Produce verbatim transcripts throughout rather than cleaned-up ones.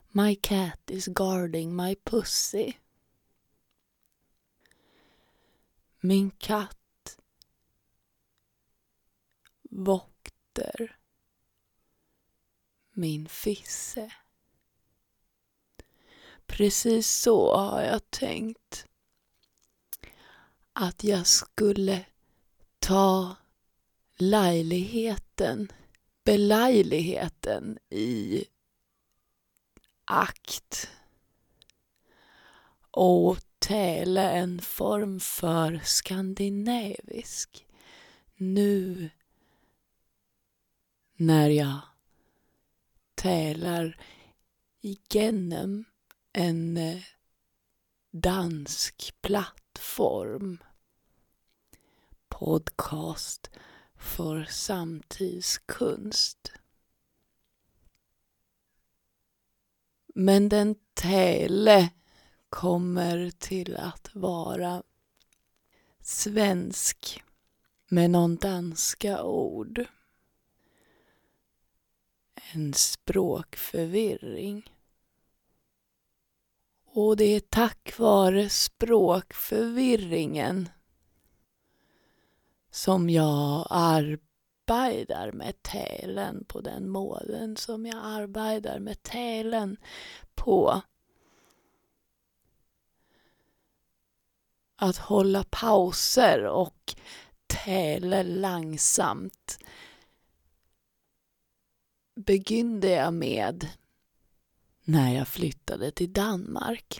My cat is guarding my pussy. Min katt vokter min fisse. Precis så har jag tänkt att jag skulle ta lejligheten, belejligheten i akt och täla en form för skandinavisk nu när jag tälar igenom en dansk plattform, podcast för samtidskunst. Men den täle kommer till att vara svensk med någon danska ord. En språkförvirring. Och det är tack vare språkförvirringen som jag arbetar med tälen på den målen som jag arbetar med tälen på. Att hålla pauser och täla långsamt begynde jag med när jag flyttade till Danmark.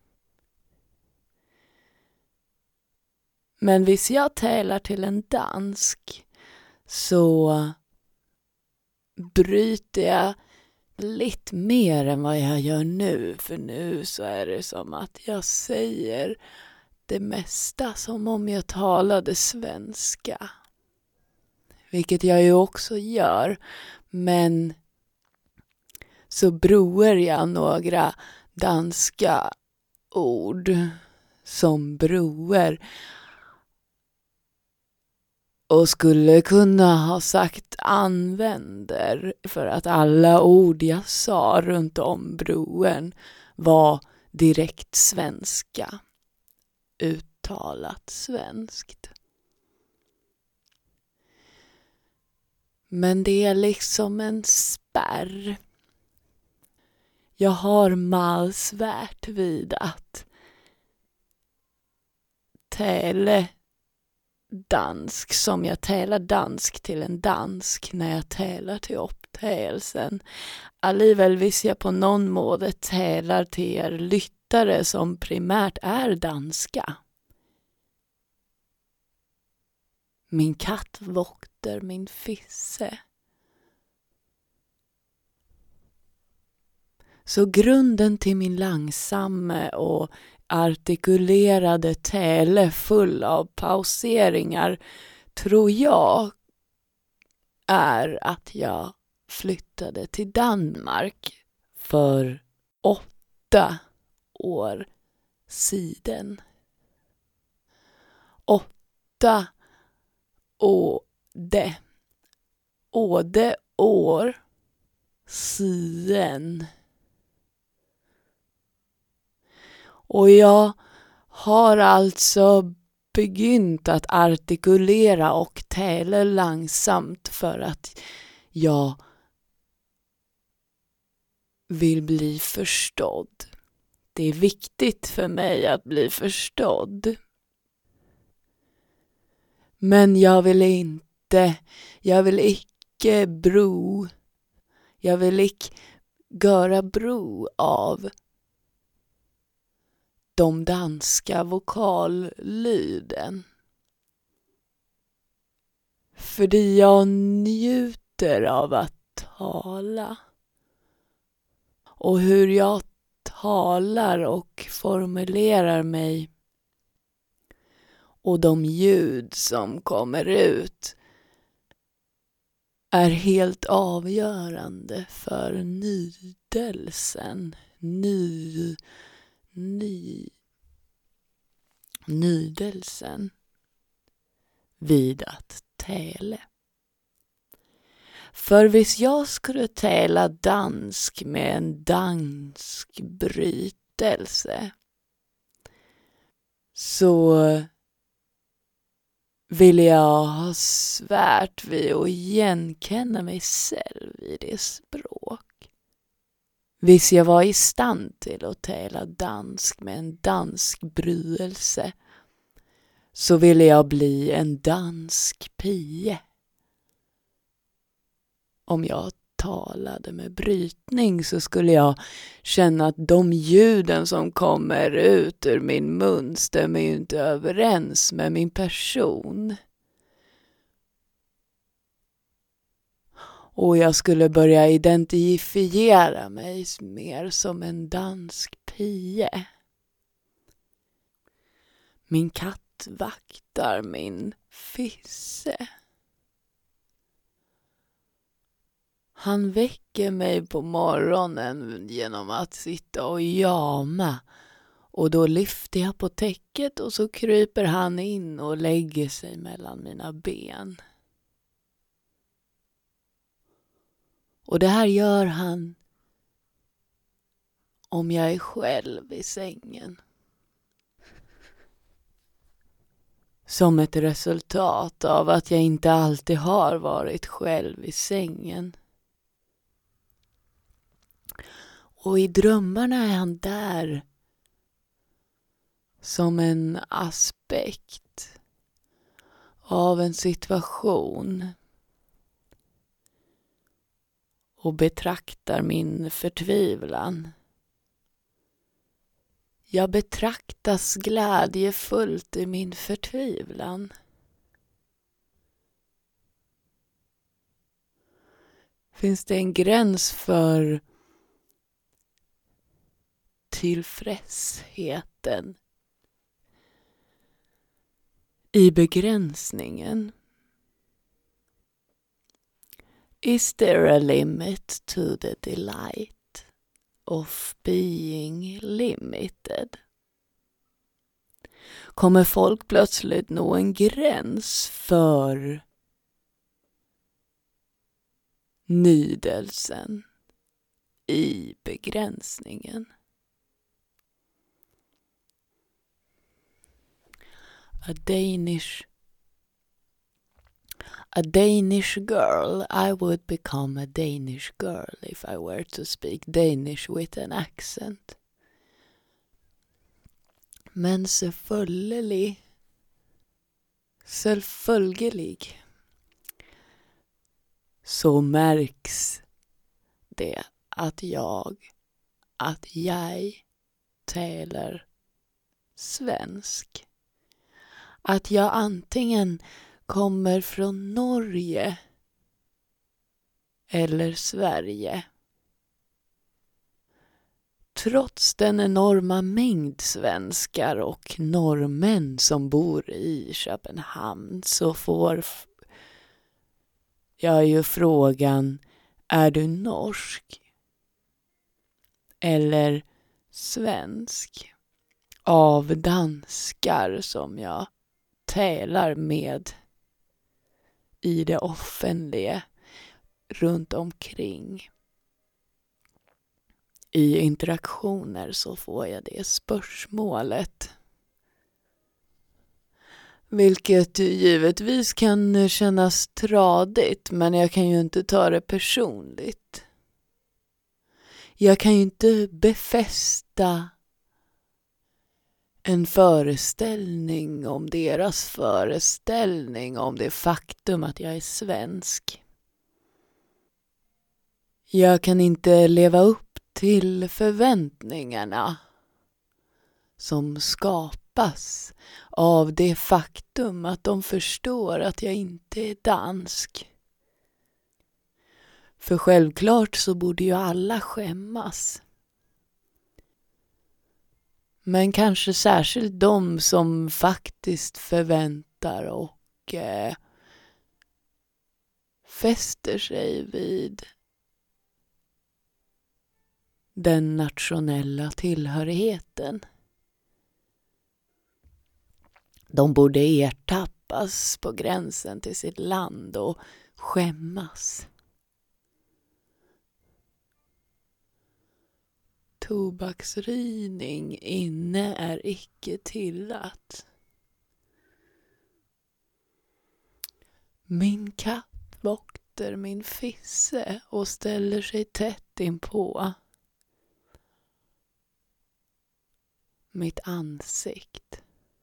Men hvis jag tälar till en dansk så bryter jag lite mer än vad jag gör nu. För nu så är det som att jag säger det mesta som om jag talade svenska. Vilket jag ju också gör. Men så broar jag några danska ord som broar. Och skulle kunna ha sagt använder för att alla ord jag sa runt om broen var direkt svenska. Uttalat svenskt. Men det är liksom en spärr. Jag har malsvärt vid att täle dansk som jag tälar dansk till en dansk när jag tälar till upptägelsen. Alliväl visst jag på någon måte tälar till er lyttare som primärt är danska. Min katt vokter min fisse. Så grunden till min långsamma och artikulerade täle full av pauseringar tror jag är att jag flyttade till Danmark för åtta år sedan. Åtta åde. Åde år sedan. Och jag har alltså begynt att artikulera och täla långsamt för att jag vill bli förstådd. Det är viktigt för mig att bli förstådd. Men jag vill inte, jag vill icke bro, jag vill icke göra bro av de danska vokallyden. För jag njuter av att tala. Och hur jag talar och formulerar mig. Och de ljud som kommer ut är helt avgörande för nydelsen. Ny... Ny, nydelsen vid att täle. För hvis jag skulle tala dansk med en dansk brytelse så vill jag ha svärt vid att igenkänna mig själv i det språk. Hvis jag var i stand till att tala dansk med en dansk brytelse så ville jag bli en dansk pie. Om jag talade med brytning så skulle jag känna att de ljuden som kommer ut ur min mun stämmer ju inte överens med min person. Och jag skulle börja identifiera mig mer som en dansk pie. Min katt vaktar min fisse. Han väcker mig på morgonen genom att sitta och jama. Och då lyfter jag på täcket och så kryper han in och lägger sig mellan mina ben. Och det här gör han om jag är själv i sängen. Som ett resultat av att jag inte alltid har varit själv i sängen. Och i drömmarna är han där som en aspekt av en situation och betraktar min förtvivlan. Jag betraktas glädjefullt i min förtvivlan. Finns det en gräns för tillfredsheten i begränsningen? Is there a limit to the delight of being limited? Kommer folk plötsligt nå en gräns för nydelsen i begränsningen? A Danish A Danish girl, I would become a Danish girl if I were to speak Danish with an accent. Men selvfølgelig, selvfølgelig, så märks det att jag, att jag talar svensk. Att jag antingen kommer från Norge eller Sverige. Trots den enorma mängd svenskar och norrmän som bor i Köpenhamn så får jag ju frågan: är du norsk eller svensk? Av danskar som jag talar med i det offentliga runt omkring. I interaktioner så får jag det spörsmålet. Vilket givetvis kan kännas tradigt, men jag kan ju inte ta det personligt. Jag kan ju inte befästa en föreställning om deras föreställning om det faktum att jag är svensk. Jag kan inte leva upp till förväntningarna som skapas av det faktum att de förstår att jag inte är dansk. För självklart så borde ju alla skämmas. Men kanske särskilt de som faktiskt förväntar och eh, fäster sig vid den nationella tillhörigheten. De borde ertappas på gränsen till sitt land och skämmas. tobaksröjning inne är icke tillåtet. Min katt vakter min fisse och ställer sig tätt inpå mitt ansikt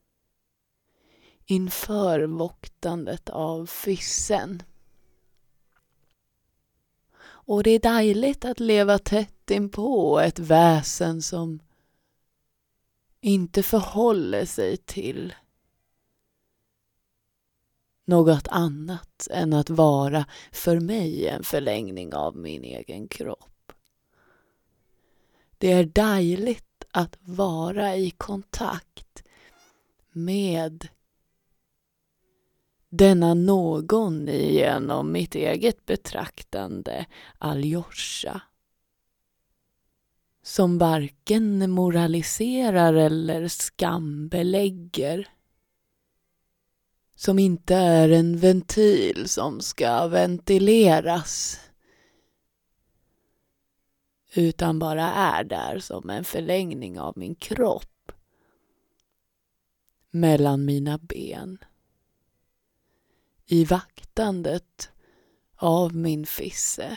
inför voktandet av fissen. Och det är dejligt att leva tätt inpå ett väsen som inte förhåller sig till något annat än att vara för mig en förlängning av min egen kropp. Det är dejligt att vara i kontakt med denna någon genom mitt eget betraktande, Alyosha, som varken moraliserar eller skambelägger, som inte är en ventil som ska ventileras, utan bara är där som en förlängning av min kropp mellan mina ben, i vaktandet av min fisse.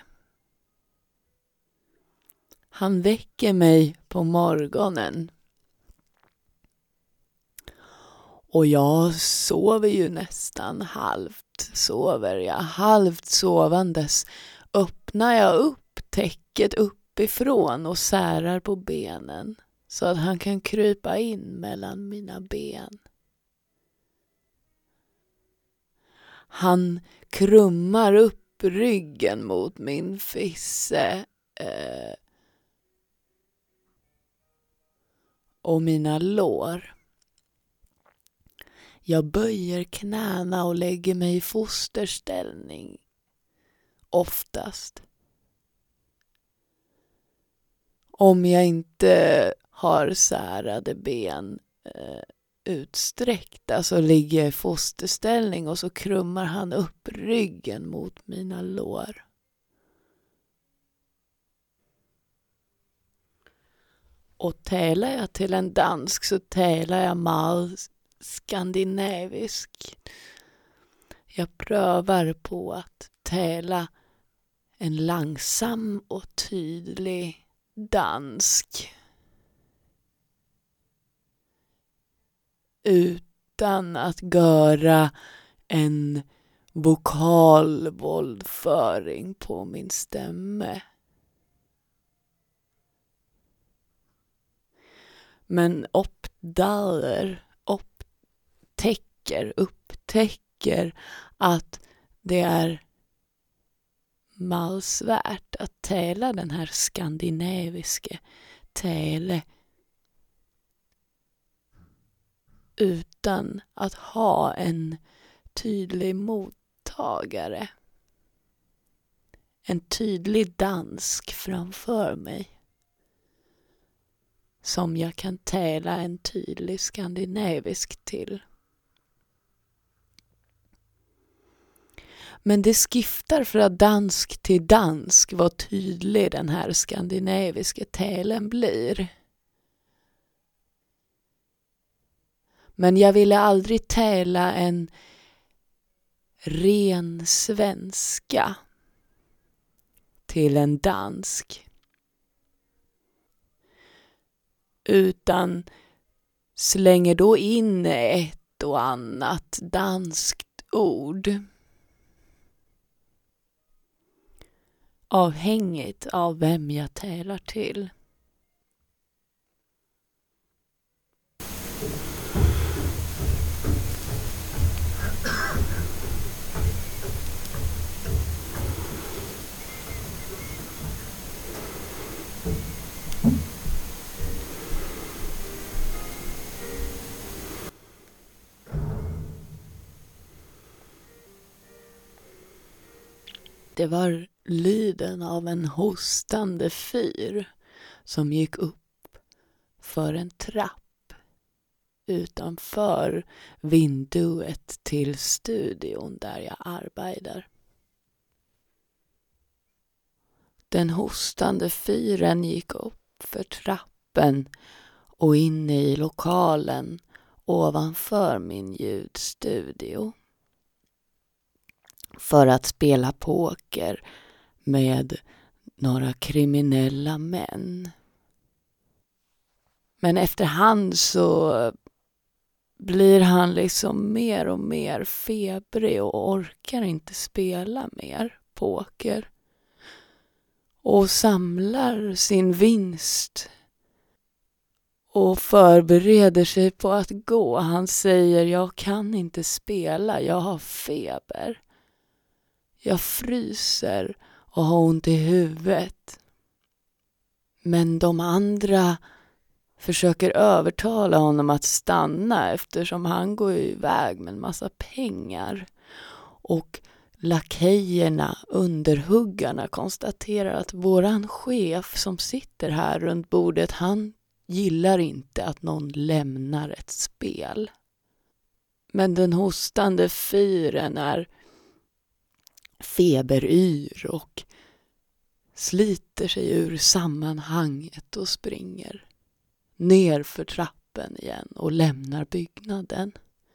Han väcker mig på morgonen och jag sover ju nästan halvt, sover jag halvt sovandes, öppnar jag upp täcket uppifrån och särar på benen så att han kan krypa in mellan mina ben. Han krummar upp ryggen mot min fisse eh, och mina lår. Jag böjer knäna och lägger mig i fosterställning oftast. Om jag inte har särade ben eh, utsträckta så ligger jag i fosterställning och så krummar han upp ryggen mot mina lår. Och talar jag till en dansk så talar jag mal skandinavisk. Jag prövar på att tala en långsam och tydlig dansk utan att göra en vokal våldföring på min stämme. Men uppdager, upptäcker, upptäcker att det är malsvärt att tala den här skandinaviska tale utan att ha en tydlig mottagare. En tydlig dansk framför mig som jag kan tala en tydlig skandinavisk till. Men det skiftar för att dansk till dansk vad tydlig den här skandinaviska talen blir. Men jag ville aldrig tala en ren svenska till en dansk. Utan slänger då in ett och annat danskt ord. Avhängigt av vem jag talar till. Det var lyden av en hostande fyr som gick upp för en trapp utanför vinduet till studion där jag arbetar. Den hostande fyren gick upp för trappen och inne i lokalen ovanför min ljudstudio för att spela poker med några kriminella män. Men efterhand så blir han liksom mer och mer febrig och orkar inte spela mer poker. Och samlar sin vinst och förbereder sig på att gå. Han säger, jag kan inte spela, jag har feber. Jag fryser och har ont i huvudet. Men de andra försöker övertala honom att stanna eftersom han går iväg med en massa pengar. Och lakejerna, underhuggarna, konstaterar att våran chef som sitter här runt bordet, han gillar inte att någon lämnar ett spel. Men den hostande fyren är feberyr och sliter sig ur sammanhanget och springer ner för trappen igen och lämnar byggnaden.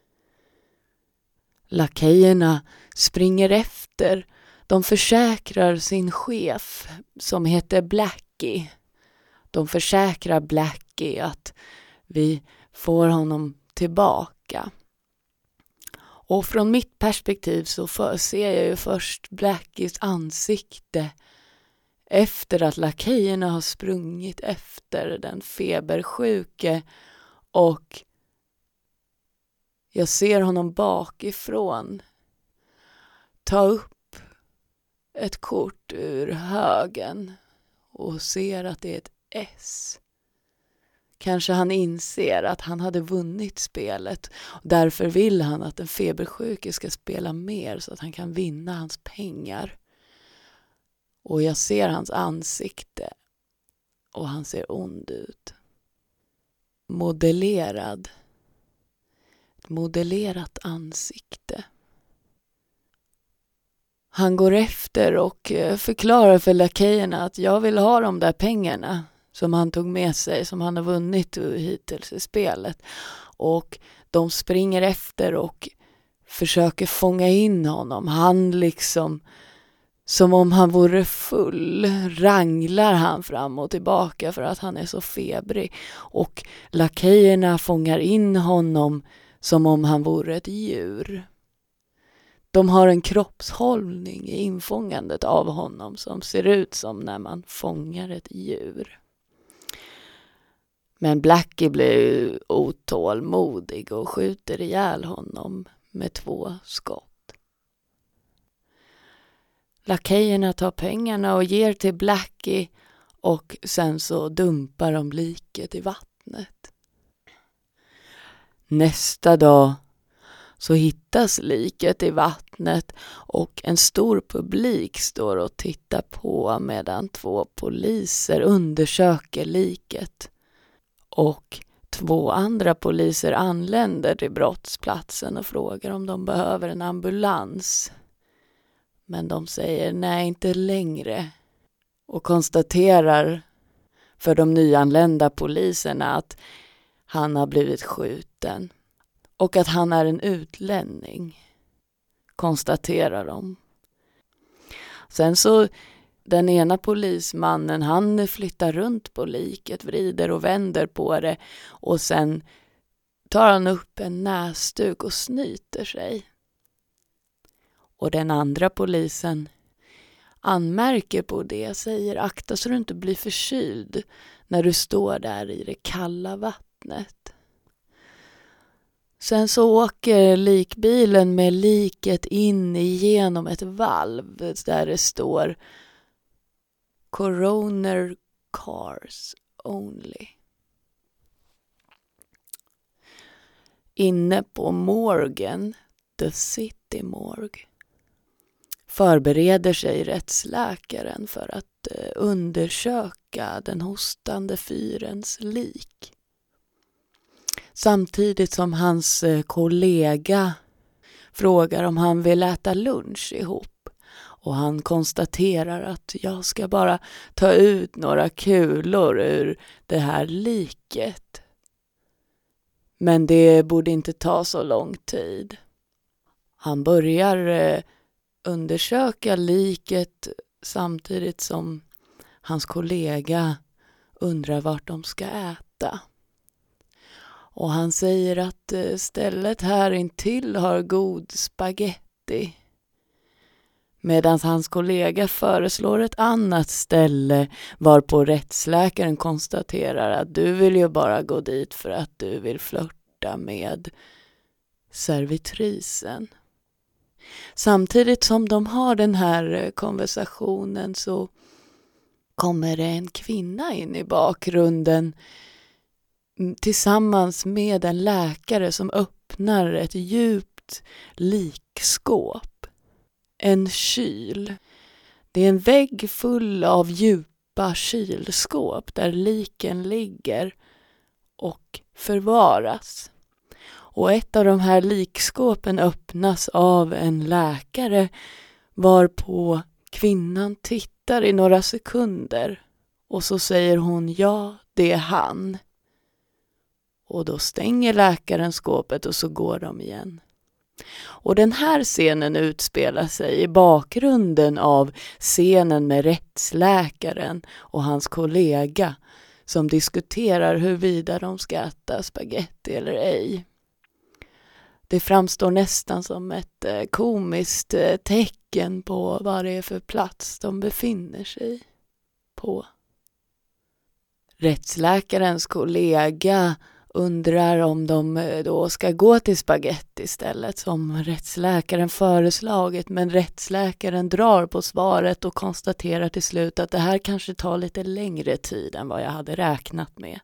Lakejerna springer efter. De försäkrar sin chef som heter Blackie. De försäkrar Blackie att vi får honom tillbaka. Och från mitt perspektiv så för, ser jag ju först Blackies ansikte efter att lakejerna har sprungit efter den febersjuke, och jag ser honom bakifrån ta upp ett kort ur högen och ser att det är ett S. Kanske han inser att han hade vunnit spelet och därför vill han att den febersjuke ska spela mer så att han kan vinna hans pengar. Och jag ser hans ansikte och han ser ond ut. Modellerad. Ett modellerat ansikte. Han går efter och förklarar för lakejerna att jag vill ha de där pengarna som han tog med sig, som han har vunnit hittills i spelet. Och de springer efter och försöker fånga in honom. Han liksom, som om han vore full, ranglar han fram och tillbaka för att han är så febrig. Och lakejerna fångar in honom som om han vore ett djur. De har en kroppshållning i infångandet av honom som ser ut som när man fångar ett djur. Men Blackie blir otålmodig och skjuter ihjäl honom med två skott. Lakejerna tar pengarna och ger till Blackie och sen så dumpar de liket i vattnet. Nästa dag så hittas liket i vattnet och en stor publik står och tittar på medan två poliser undersöker liket. Och två andra poliser anländer till brottsplatsen och frågar om de behöver en ambulans. Men de säger nej, inte längre. Och konstaterar för de nyanlända poliserna att han har blivit skjuten. Och att han är en utlänning, konstaterar de. Sen så, den ena polismannen, han flyttar runt på liket, vrider och vänder på det. Och sen tar han upp en näsduk och snyter sig. Och den andra polisen anmärker på det, säger akta så du inte blir förkyld när du står där i det kalla vattnet. Sen så åker likbilen med liket in igenom ett valv där det står Coroner Cars Only. Inne på morgen, The City Morgue, förbereder sig rättsläkaren för att undersöka den hostande fyrens lik. Samtidigt som hans kollega frågar om han vill äta lunch ihop. Och han konstaterar att jag ska bara ta ut några kulor ur det här liket. Men det borde inte ta så lång tid. Han börjar eh, undersöka liket samtidigt som hans kollega undrar vart de ska äta. Och han säger att eh, stället här intill har god spaghetti. Medan hans kollega föreslår ett annat ställe varpå rättsläkaren konstaterar att du vill ju bara gå dit för att du vill flirta med servitrisen. Samtidigt som de har den här konversationen så kommer det en kvinna in i bakgrunden tillsammans med en läkare som öppnar ett djupt likskåp. En kyl. Det är en vägg full av djupa kylskåp där liken ligger och förvaras. Och ett av de här likskåpen öppnas av en läkare varpå kvinnan tittar i några sekunder och så säger hon ja, det är han. Och då stänger läkaren skåpet och så går de igen. Och den här scenen utspelar sig i bakgrunden av scenen med rättsläkaren och hans kollega som diskuterar huruvida de ska äta spaghetti eller ej. Det framstår nästan som ett komiskt tecken på vad det är för plats de befinner sig på. Rättsläkarens kollega undrar om de då ska gå till spaghetti istället som rättsläkaren föreslagit, men rättsläkaren drar på svaret och konstaterar till slut att det här kanske tar lite längre tid än vad jag hade räknat med.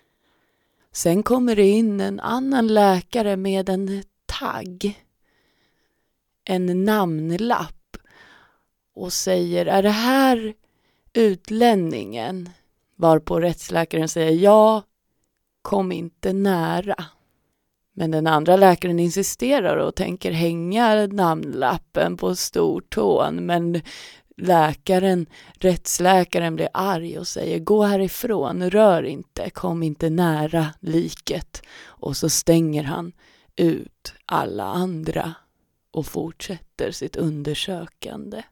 Sen kommer det in en annan läkare med en tagg, en namnlapp och säger, är det här utlänningen? Varpå rättsläkaren säger, ja, kom inte nära. Men den andra läkaren insisterar och tänker hänga namnlappen på stortån, men läkaren, rättsläkaren blir arg och säger, gå härifrån, rör inte, kom inte nära liket. Och så stänger han ut alla andra och fortsätter sitt undersökande.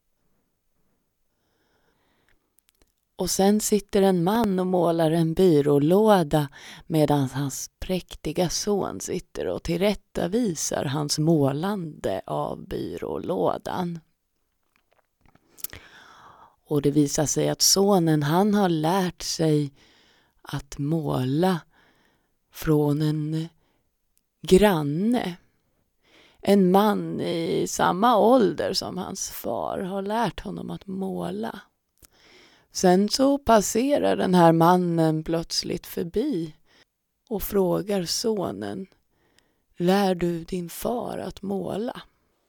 Och sen sitter en man och målar en byrålåda medan hans präktiga son sitter och tillrättavisar hans målande av byrålådan. Och det visar sig att sonen, han har lärt sig att måla från en granne. En man i samma ålder som hans far har lärt honom att måla. Sen så passerar den här mannen plötsligt förbi och frågar sonen, lär du din far att måla?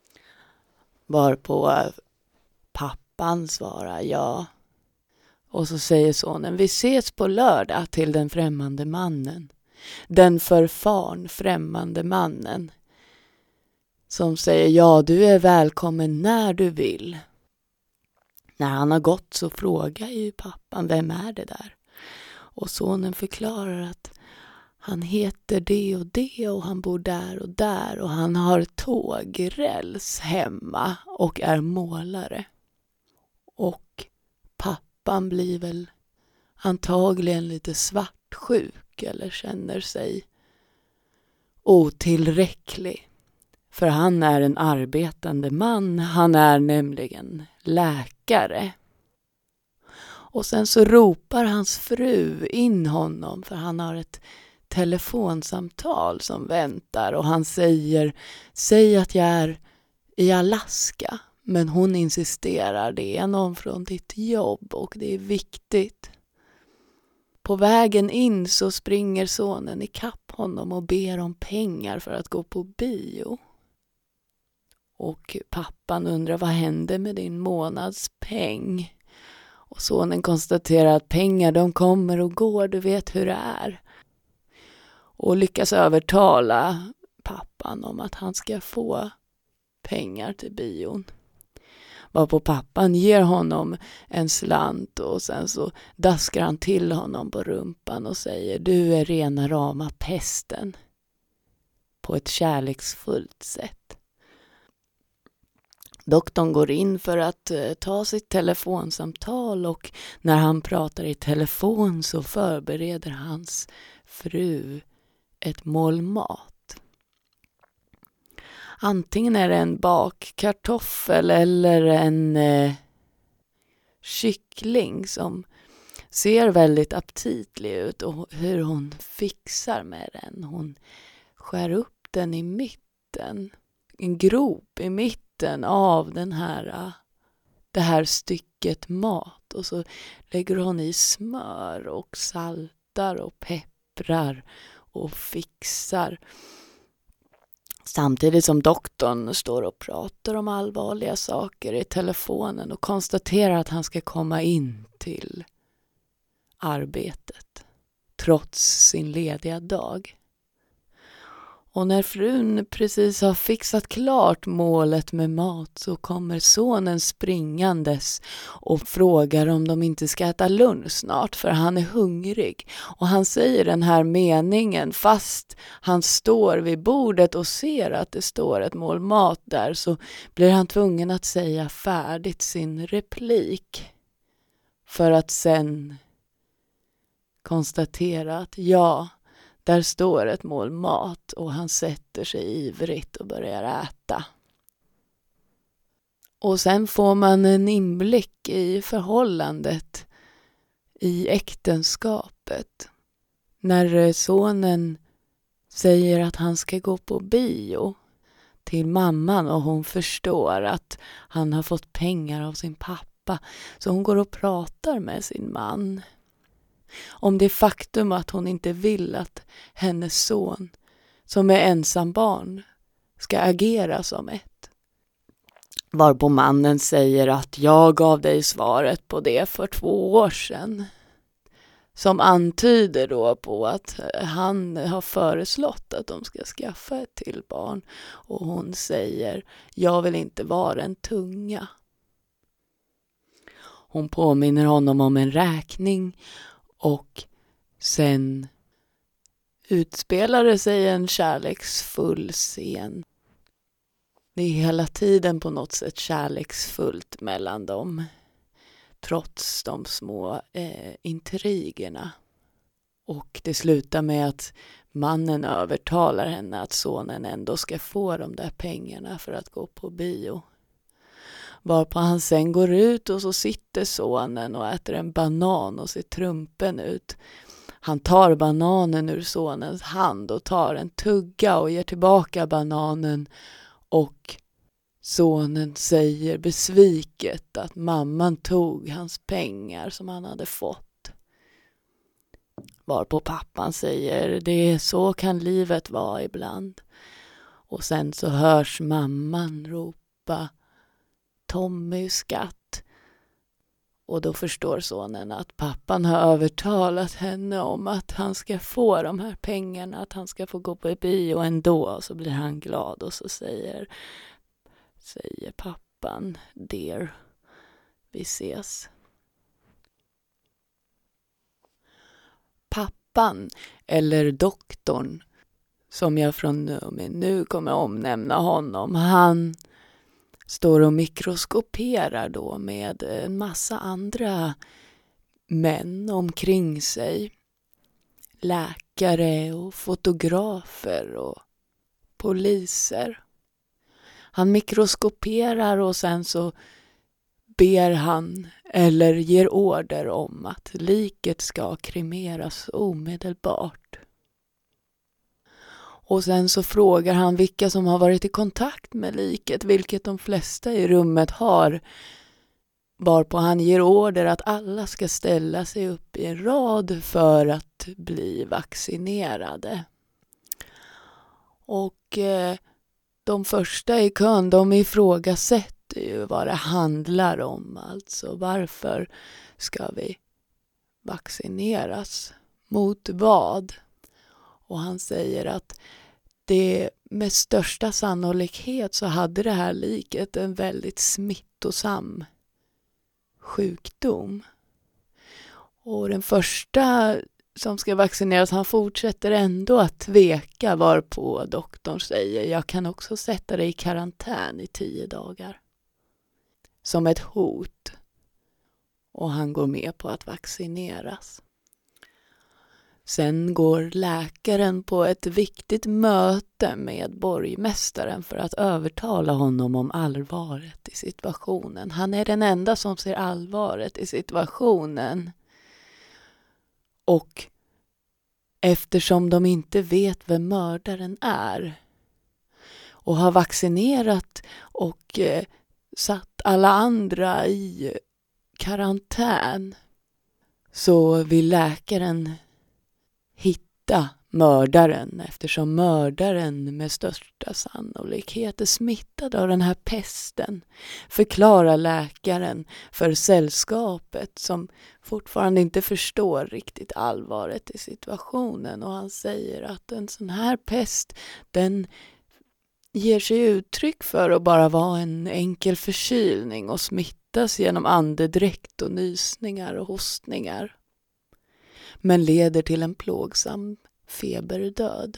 Varpå pappan svarar ja. Och så säger sonen, vi ses på lördag till den främmande mannen. Den förfarn främmande mannen. Som säger, ja du är välkommen när du vill. När han har gått så frågar ju pappan, vem är det där? Och sonen förklarar att han heter det och det och han bor där och där och han har tågräls hemma och är målare. Och pappan blir väl antagligen lite svartsjuk eller känner sig otillräcklig. För han är en arbetande man, han är nämligen läkare. Och sen så ropar hans fru in honom för han har ett telefonsamtal som väntar och han säger, säg att jag är i Alaska. Men hon insisterar, det är någon från ditt jobb och det är viktigt. På vägen in så springer sonen ikapp honom och ber om pengar för att gå på bio. Och pappan undrar, vad händer med din månadspeng? Och sonen konstaterar att pengar de kommer och går, du vet hur det är. Och lyckas övertala pappan om att han ska få pengar till bion. Varpå pappan ger honom en slant och sen så daskar han till honom på rumpan och säger: du är rena rama pesten. På ett kärleksfullt sätt. Doktorn går in för att eh, ta sitt telefonsamtal, och när han pratar i telefon så förbereder hans fru ett mål mat. Antingen är det en bakkartoffel eller en eh, kyckling som ser väldigt aptitlig ut, och hur hon fixar med den. Hon skär upp den i mitten, en grop i mitten av den här, det här stycket mat, och så lägger hon i smör och saltar och pepprar och fixar. Samtidigt som doktorn står och pratar om allvarliga saker i telefonen och konstaterar att han ska komma in till arbetet trots sin lediga dag. Och när frun precis har fixat klart målet med mat så kommer sonen springandes och frågar om de inte ska äta lunch snart, för han är hungrig. Och han säger den här meningen fast han står vid bordet och ser att det står ett mål mat där, så blir han tvungen att säga färdigt sin replik för att sen konstatera att ja, där står ett mål mat, och han sätter sig ivrigt och börjar äta. Och sen får man en inblick i förhållandet i äktenskapet. När sonen säger att han ska gå på bio till mamman och hon förstår att han har fått pengar av sin pappa, så hon går och pratar med sin man om det faktum att hon inte vill att hennes son, som är ensam barn, ska agera som ett. Varpå mannen säger att jag gav dig svaret på det för två år sedan. Som antyder då på att han har föreslått att de ska skaffa ett till barn. Och hon säger: jag vill inte vara en tunga. Hon påminner honom om en räkning. Och sen utspelar det sig en kärleksfull scen. Det är hela tiden på något sätt kärleksfullt mellan dem, trots de små eh, intrigerna. Och det slutar med att mannen övertalar henne att sonen ändå ska få de där pengarna för att gå på bio. Varpå han sen går ut och så sitter sonen och äter en banan och ser trumpen ut. Han tar bananen ur sonens hand och tar en tugga och ger tillbaka bananen. Och sonen säger besviket att mamman tog hans pengar som han hade fått. Varpå pappan säger: det är så kan livet vara ibland. Och sen så hörs mamman ropa: Tommy, skatt. Och då förstår sonen att pappan har övertalat henne om att han ska få de här pengarna, att han ska få gå på bio ändå. Och så blir han glad och så säger, säger pappan: dear, vi ses. Pappan, eller doktorn, som jag från nu, nu kommer omnämna honom, han står och mikroskoperar då med en massa andra män omkring sig. Läkare och fotografer och poliser. Han mikroskoperar och sen så ber han eller ger order om att liket ska kremeras omedelbart. Och sen så frågar han vilka som har varit i kontakt med liket, vilket de flesta i rummet har. Varpå han ger order att alla ska ställa sig upp i en rad för att bli vaccinerade. Och eh, de första i kön, de ifrågasätter ju vad det handlar om. Alltså varför ska vi vaccineras? Mot vad? Och han säger att det med största sannolikhet så hade det här liket en väldigt smittosam sjukdom. Och den första som ska vaccineras, han fortsätter ändå att tveka, varpå doktorn säger: jag kan också sätta dig i karantän i tio dagar. Som ett hot. Och han går med på att vaccineras. Sen går läkaren på ett viktigt möte med borgmästaren för att övertala honom om allvaret i situationen. Han är den enda som ser allvaret i situationen. Och eftersom de inte vet vem mördaren är och har vaccinerat och eh, satt alla andra i karantän, så vill läkaren hitta mördaren, eftersom mördaren med största sannolikhet är smittad av den här pesten, förklarar läkaren för sällskapet, som fortfarande inte förstår riktigt allvaret i situationen. Och han säger att en sån här pest, den ger sig uttryck för att bara vara en enkel förkylning och smittas genom andedräkt och nysningar och hostningar, men leder till en plågsam feberdöd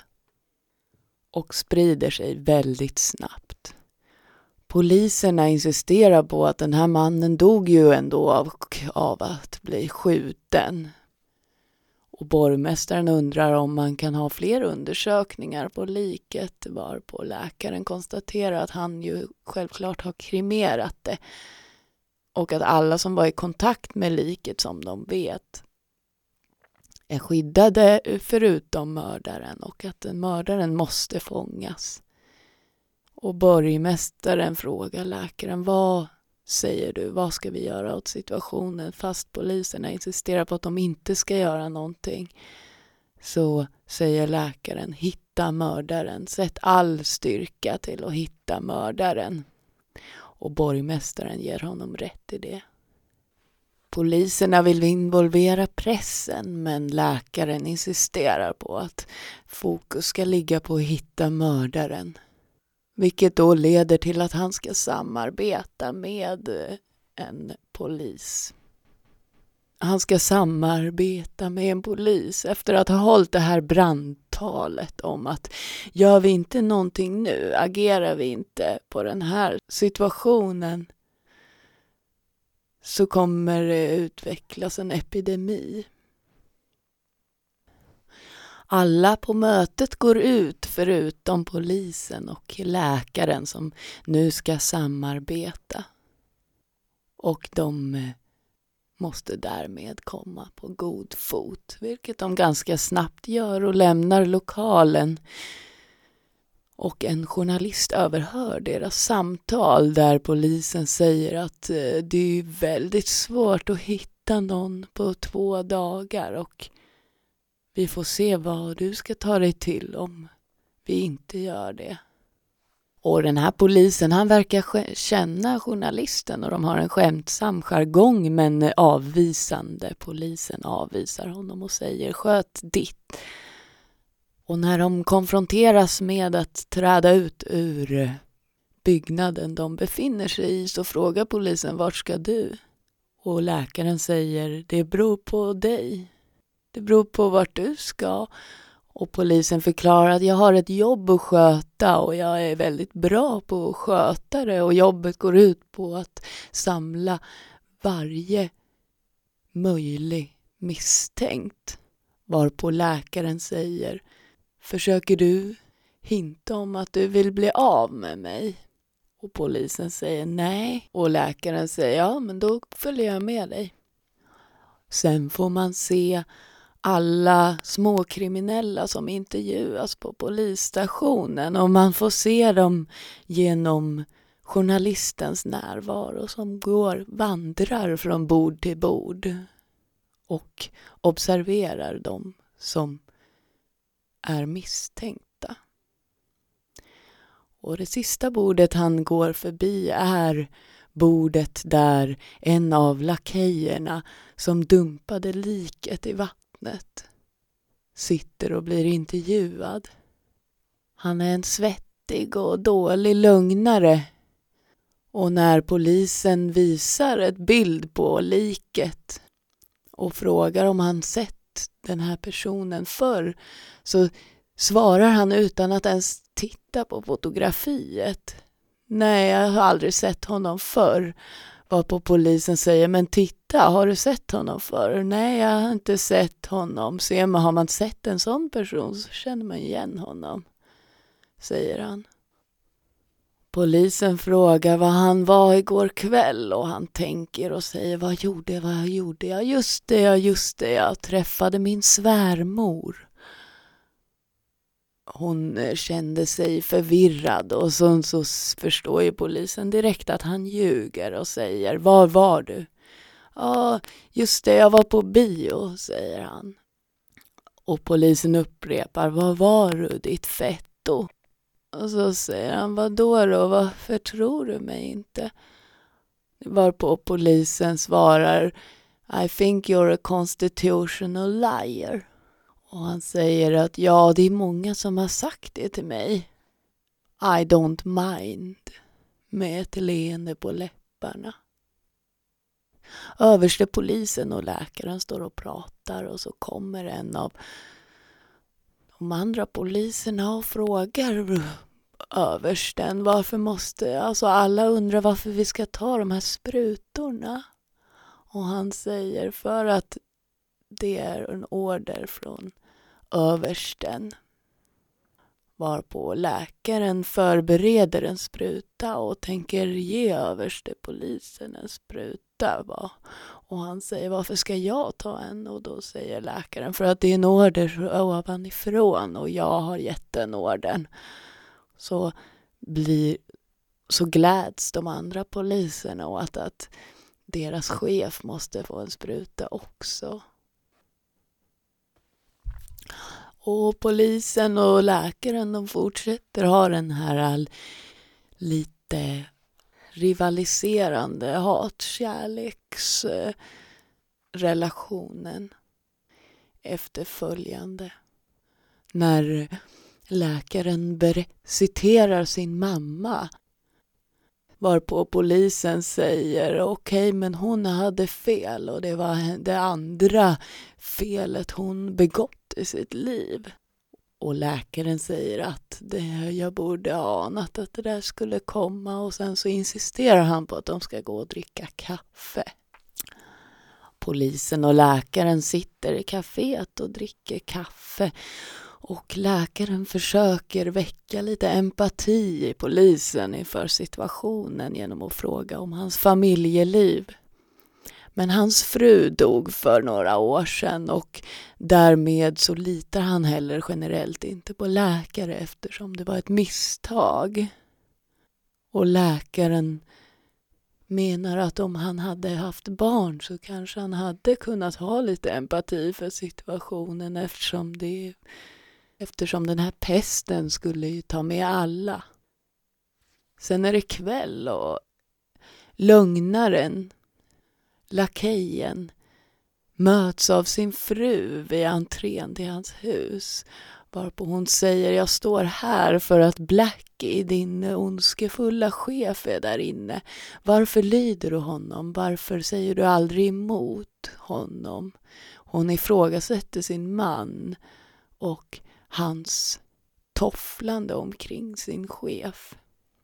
och sprider sig väldigt snabbt. Poliserna insisterar på att den här mannen dog ju ändå av, av att bli skjuten. Och borgmästaren undrar om man kan ha fler undersökningar på liket, varpå läkaren konstaterar att han ju självklart har kremerat det. Och att alla som var i kontakt med liket, som de vet, är skyddade förutom mördaren, och att den mördaren måste fångas. Och borgmästaren frågar läkaren: vad säger du, vad ska vi göra åt situationen? Fast poliserna insisterar på att de inte ska göra någonting, så säger läkaren: hitta mördaren, sätt all styrka till att hitta mördaren. Och borgmästaren ger honom rätt i det. Poliserna vill involvera pressen, men läkaren insisterar på att fokus ska ligga på att hitta mördaren. Vilket då leder till att han ska samarbeta med en polis. Han ska samarbeta med en polis efter att ha hållit det här brandtalet om att gör vi inte någonting nu, agerar vi inte på den här situationen, så kommer det utvecklas en epidemi. Alla på mötet går ut förutom polisen och läkaren som nu ska samarbeta. Och de måste därmed komma på god fot, vilket de ganska snabbt gör, och lämnar lokalen. Och en journalist överhör deras samtal där polisen säger att det är väldigt svårt att hitta någon på två dagar och vi får se vad du ska ta dig till om vi inte gör det. Och den här polisen, han verkar känna journalisten och de har en skämtsam jargong, men avvisande. Polisen avvisar honom och säger: sköt ditt. Och när de konfronteras med att träda ut ur byggnaden de befinner sig i, så frågar polisen: vart ska du? Och läkaren säger: det beror på dig. Det beror på vart du ska. Och polisen förklarar att jag har ett jobb att sköta och jag är väldigt bra på att sköta det. Och jobbet går ut på att samla varje möjlig misstänkt. Varpå läkaren säger: försöker du hinta om att du vill bli av med mig? Och polisen säger nej. Och läkaren säger: ja, men då följer jag med dig. Sen får man se alla småkriminella som intervjuas på polisstationen, och man får se dem genom journalistens närvaro som går, vandrar från bord till bord och observerar dem som är misstänkta. Och det sista bordet han går förbi är bordet där en av lakejerna som dumpade liket i vattnet sitter och blir intervjuad. Han är en svettig och dålig lögnare. Och när polisen visar ett bild på liket och frågar om han sett den här personen förr, så svarar han utan att ens titta på fotografiet: nej, jag har aldrig sett honom förr. Varpå polisen säger: men titta, har du sett honom förr? Nej, jag har inte sett honom. Ser man, har man sett en sån person så känner man igen honom, säger han. Polisen frågar vad han var igår kväll och han tänker och säger: vad gjorde jag, vad gjorde jag? Just det, ja, just det, jag träffade min svärmor. Hon kände sig förvirrad och så, så förstår ju polisen direkt att han ljuger och säger: var var du? Ja, just det, jag var på bio, säger han. Och polisen upprepar: var var du, ditt fetto? Och så säger han: vad då då, varför tror du mig inte? Varpå polisen svarar: I think you're a constitutional liar. Och han säger att ja, det är många som har sagt det till mig. I don't mind. Med ett leende på läpparna. Överste polisen och läkaren står och pratar och så kommer en av de andra poliserna och frågar översten varför måste, alltså alla undrar varför vi ska ta de här sprutorna. Och han säger: för att det är en order från översten. Varpå läkaren förbereder en spruta och tänker ge överste polisen en spruta. Va? Och han säger: varför ska jag ta en? Och då säger läkaren: för att det är en order ovanifrån och jag har gett den ordern. Så, blir, så gläds de andra poliserna åt att deras chef måste få en spruta också. Och polisen och läkaren, de fortsätter ha den här lite rivaliserande hatkärleksrelationen efterföljande. När läkaren ber- citerar sin mamma, varpå polisen säger: okej, okay, men hon hade fel och det var det andra felet hon begått i sitt liv. Och läkaren säger att det, jag borde ha anat att det där skulle komma, och sen så insisterar han på att de ska gå och dricka kaffe. Polisen och läkaren sitter i kaféet och dricker kaffe. Och läkaren försöker väcka lite empati i polisen inför situationen genom att fråga om hans familjeliv. Men hans fru dog för några år sedan och därmed så litar han heller generellt inte på läkare eftersom det var ett misstag. Och läkaren menar att om han hade haft barn så kanske han hade kunnat ha lite empati för situationen eftersom det Eftersom den här pesten skulle ju ta med alla. Sen är det kväll och lögnaren, lakejen, möts av sin fru vid entrén till hans hus. Varpå hon säger: jag står här för att Blackie, din ondskefulla chef, är där inne. Varför lyder du honom? Varför säger du aldrig emot honom? Hon ifrågasätter sin man och hans tofflande omkring sin chef.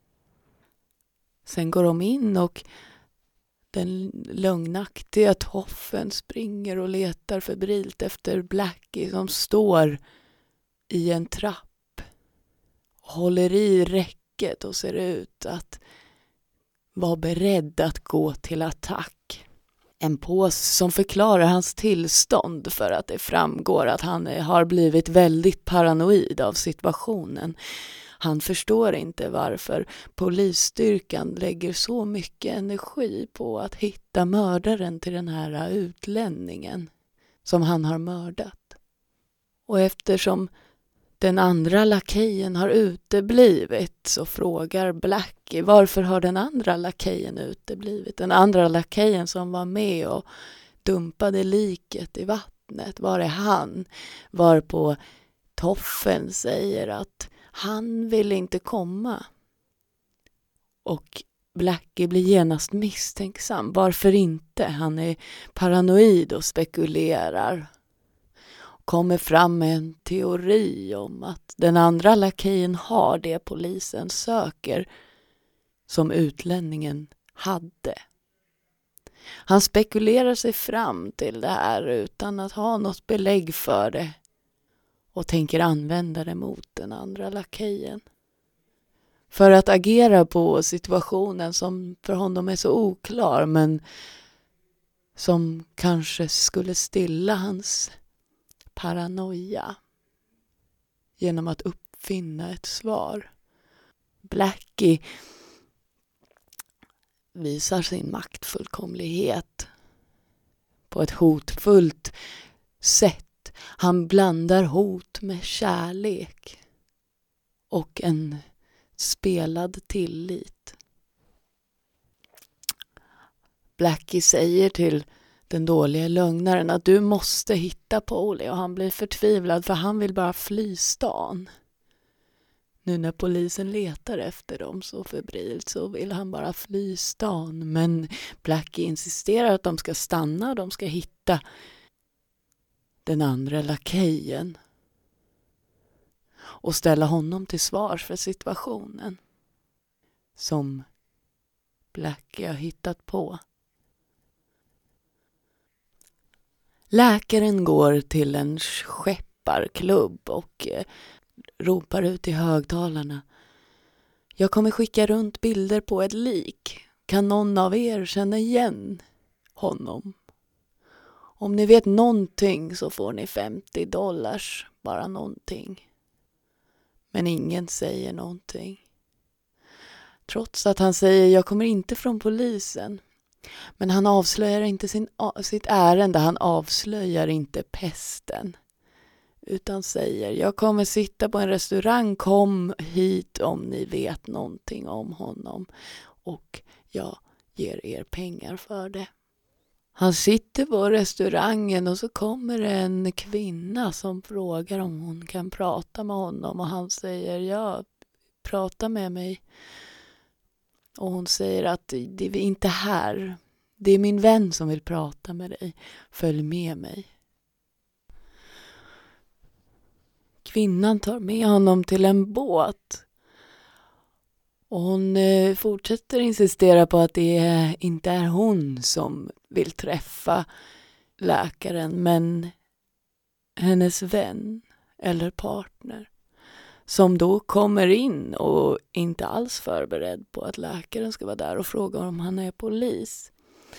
Sen går de in och den lögnaktiga toffen springer och letar febrilt efter Blackie som står i en trapp och håller i räcket och ser ut att vara beredd att gå till attack. En påse som förklarar hans tillstånd för att det framgår att han har blivit väldigt paranoid av situationen. Han förstår inte varför polisstyrkan lägger så mycket energi på att hitta mördaren till den här utlänningen som han har mördat. Och eftersom den andra lakejen har uteblivit så frågar Blackie: varför har den andra lakejen uteblivit? Den andra lakejen som var med och dumpade liket i vattnet, var är han? Varpå toffen säger att Han vill inte komma. Och Blackie blir genast misstänksam. Varför inte? Han är paranoid och spekulerar. Kommer fram med en teori om att den andra lakejen har det polisen söker som utlänningen hade. Han spekulerar sig fram till det här utan att ha något belägg för det och tänker använda det mot den andra lakejen. För att agera på situationen som för honom är så oklar men som kanske skulle stilla hans paranoia genom att uppfinna ett svar. Blackie visar sin maktfullkomlighet på ett hotfullt sätt. Han blandar hot med kärlek och en spelad tillit. Blackie säger till den dåliga lögnaren att du måste hitta Polly, och han blir förtvivlad för han vill bara fly stan. Nu när polisen letar efter dem så febrilt så vill han bara fly stan, men Blackie insisterar att de ska stanna och de ska hitta den andra lakejen och ställa honom till svars för situationen som Blackie har hittat på. Läkaren går till en skepparklubb och eh, ropar ut i högtalarna. Jag kommer skicka runt bilder på ett lik. Kan någon av er känna igen honom? Om ni vet någonting så får ni femtio dollars, bara någonting. Men ingen säger någonting. Trots att han säger jag kommer inte från polisen. Men han avslöjar inte sin, sitt ärende, han avslöjar inte pesten. Utan säger jag kommer sitta på en restaurang, kom hit om ni vet någonting om honom. Och jag ger er pengar för det. Han sitter på restaurangen och så kommer en kvinna som frågar om hon kan prata med honom. Och han säger ja, prata med mig. Och hon säger att det är inte här. Det är min vän som vill prata med dig. Följ med mig. Kvinnan tar med honom till en båt. Och hon eh, fortsätter insistera på att det är, inte är hon som vill träffa läkaren. Men hennes vän eller partner. Som då kommer in och inte alls förberedd på att läkaren ska vara där och fråga om han är polis.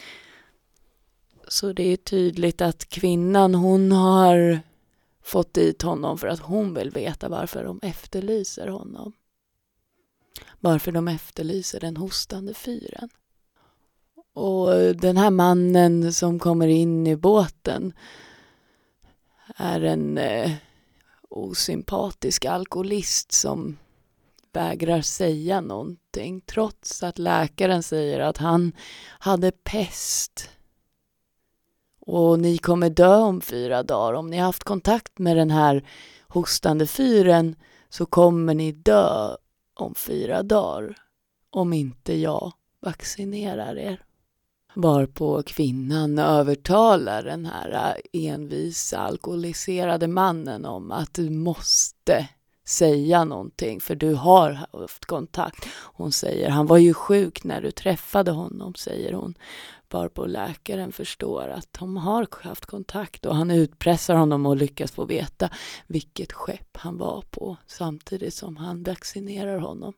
Så det är tydligt att kvinnan, hon har fått dit honom för att hon vill veta varför de efterlyser honom. Varför de efterlyser den hostande fyren. Och den här mannen som kommer in i båten är en eh, osympatisk alkoholist som vägrar säga någonting. Trots att läkaren säger att han hade pest. Och ni kommer dö om fyra dagar. Om ni har haft kontakt med den här hostande fyren så kommer ni dö om fyra dagar. Om inte jag vaccinerar er. Varpå kvinnan övertalar den här envisa alkoholiserade mannen om att du måste säga någonting för du har haft kontakt. Hon säger, han var ju sjuk när du träffade honom, säger hon. Varpå läkaren förstår att de har haft kontakt och han utpressar honom och lyckas få veta vilket skepp han var på samtidigt som han vaccinerar honom.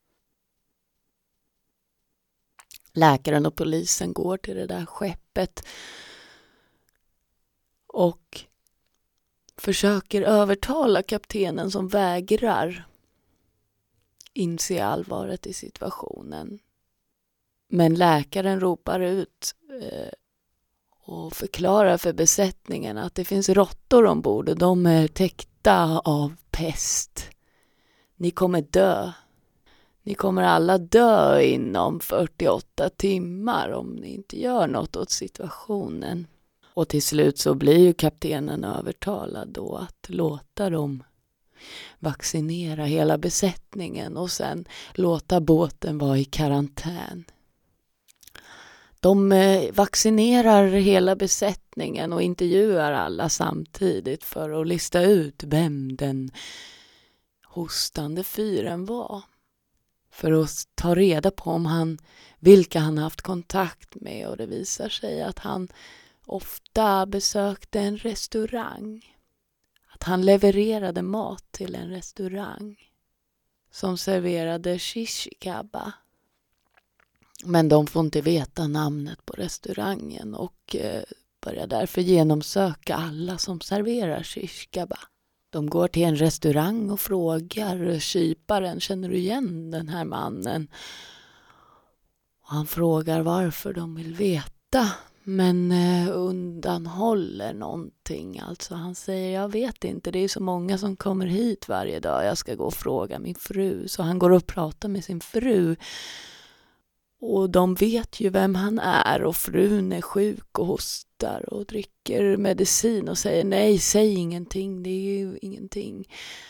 Läkaren och polisen går till det där skeppet och försöker övertala kaptenen som vägrar inse allvaret i situationen. Men läkaren ropar ut eh, och förklarar för besättningen att det finns råttor ombord och de är täckta av pest. Ni kommer dö. Ni kommer alla dö inom fyrtioåtta timmar om ni inte gör något åt situationen. Och till slut så blir ju kaptenen övertalad då att låta dem vaccinera hela besättningen och sen låta båten vara i karantän. De vaccinerar hela besättningen och intervjuar alla samtidigt för att lista ut vem den hostande fyren var. För att ta reda på om han, vilka han haft kontakt med, och det visar sig att han ofta besökte en restaurang. Att han levererade mat till en restaurang som serverade shish kebab. Men de får inte veta namnet på restaurangen och eh, börjar därför genomsöka alla som serverar shish kebab. De går till en restaurang och frågar kyparen, känner du igen den här mannen? Och han frågar varför de vill veta, men eh, undanhåller någonting. Alltså han säger, jag vet inte, det är så många som kommer hit varje dag, jag ska gå och fråga min fru. Så han går och pratar med sin fru. Och de vet ju vem han är och frun är sjuk och hostar och dricker medicin och säger nej, säg ingenting, det är ju ingenting.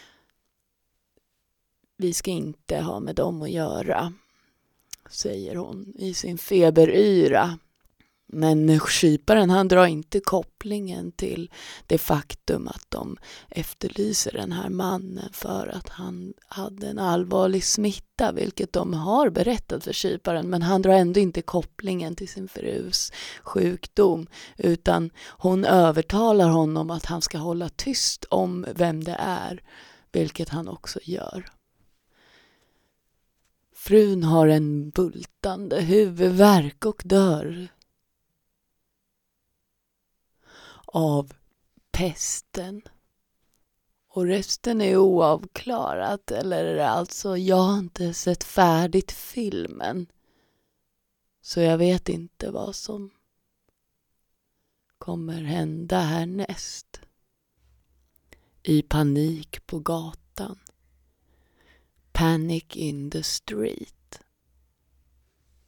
Vi ska inte ha med dem att göra, säger hon i sin feberyra. Men kyparen, han drar inte kopplingen till det faktum att de efterlyser den här mannen för att han hade en allvarlig smitta, vilket de har berättat för kyparen, men han drar ändå inte kopplingen till sin frus sjukdom, utan hon övertalar honom att han ska hålla tyst om vem det är, vilket han också gör. Frun har en bultande huvudvärk och dör av pesten. Och resten är oavklarat, eller alltså jag har inte sett färdigt filmen. Så jag vet inte vad som kommer hända härnäst. I panik på gatan. Panic in the street.